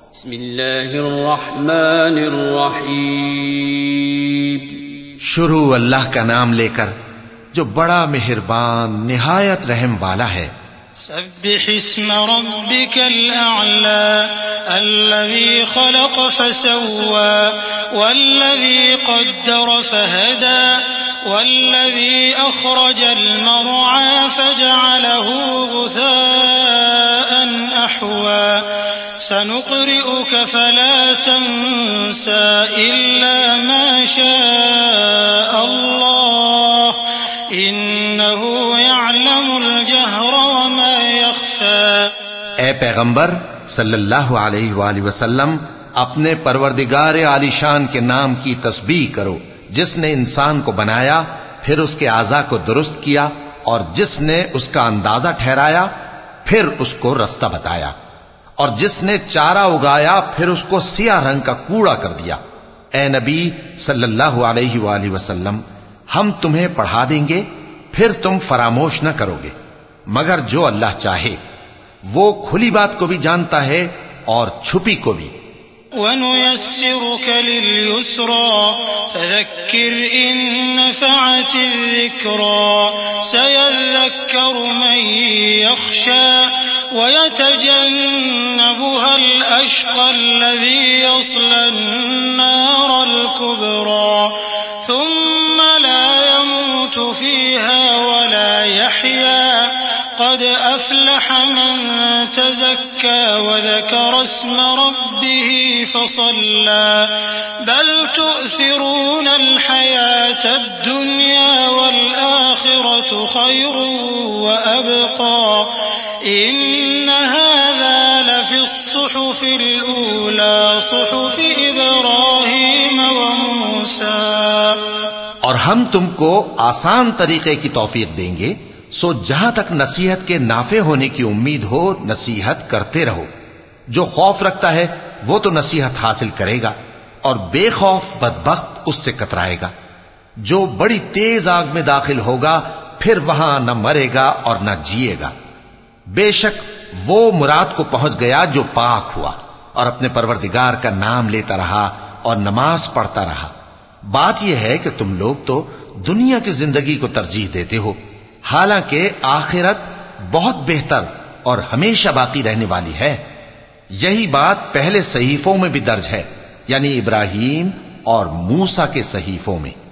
بسم اللہ الرحمن الرحیم. شروع اللہ کا نام لے کر جو بڑا مہربان نہایت رحم والا ہے. سبح اسم ربك الأعلى الذي خلق فسوى والذي قدر فهدى والذي أخرج المرعى فجعله غثاء أحوى سنقرئك فلا تنسى إلا ما شاء الله إنه يعلم الجهر وما يخفى. اے پیغمبر صلی اللہ علیہ وآلہ وسلم، اپنے پروردگار عالی شان کے نام کی تسبیح کرو، جس نے انسان کو بنایا پھر اس کے اعضاء کو درست کیا، اور جس نے اس کا اندازہ ٹھہرایا پھر اس کو رستہ بتایا، اور جس نے چارہ اگایا پھر اس کو سیاہ رنگ کا کوڑا کر دیا. اے نبی صلی اللہ علیہ وآلہ وسلم، ہم تمہیں پڑھا دیں گے پھر تم فراموش نہ کرو گے، مگر جو اللہ چاہے. وہ کھلی بات کو بھی جانتا ہے اور چھپی کو بھی. وَنُيَسِّرُكَ لِلْيُسْرَى فَذَكِّرْ إِن نَّفَعَتِ الذِّكْرَى سَيَذَّكَّرُ مَن يَخْشَى وَيَتَجَنَّبُهَا الْأَشْقَى الَّذِي يَصْلَى النَّارَ الْكُبْرَى ثُمَّ لَا يَمُوتُ فِيهَا وَلَا يَحْيَى قد أفلح من تزكى وذكر اسم ربه فصلى بل تؤثرون الحياة الدنيا والآخرة خير وأبقى إن هذا لفي الصحف الأولى صحف إبراهيم وموسى. اور ہم تم کو آسان طریقے کی توفیق دیں گے، سو جہاں تک نصیحت کے نافع ہونے کی امید ہو نصیحت کرتے رہو. جو خوف رکھتا ہے وہ تو نصیحت حاصل کرے گا، اور بے خوف بدبخت اس سے کترائے گا. جو بڑی تیز آگ میں داخل ہوگا پھر وہاں نہ مرے گا اور نہ جیے گا. بے شک وہ مراد کو پہنچ گیا جو پاک ہوا اور اپنے پروردگار کا نام لیتا رہا اور نماز پڑھتا رہا. بات یہ ہے کہ تم لوگ تو دنیا کی زندگی کو ترجیح دیتے ہو، حالانکہ آخرت بہت بہتر اور ہمیشہ باقی رہنے والی ہے. یہی بات پہلے صحیفوں میں بھی درج ہے، یعنی ابراہیم اور موسیٰ کے صحیفوں میں.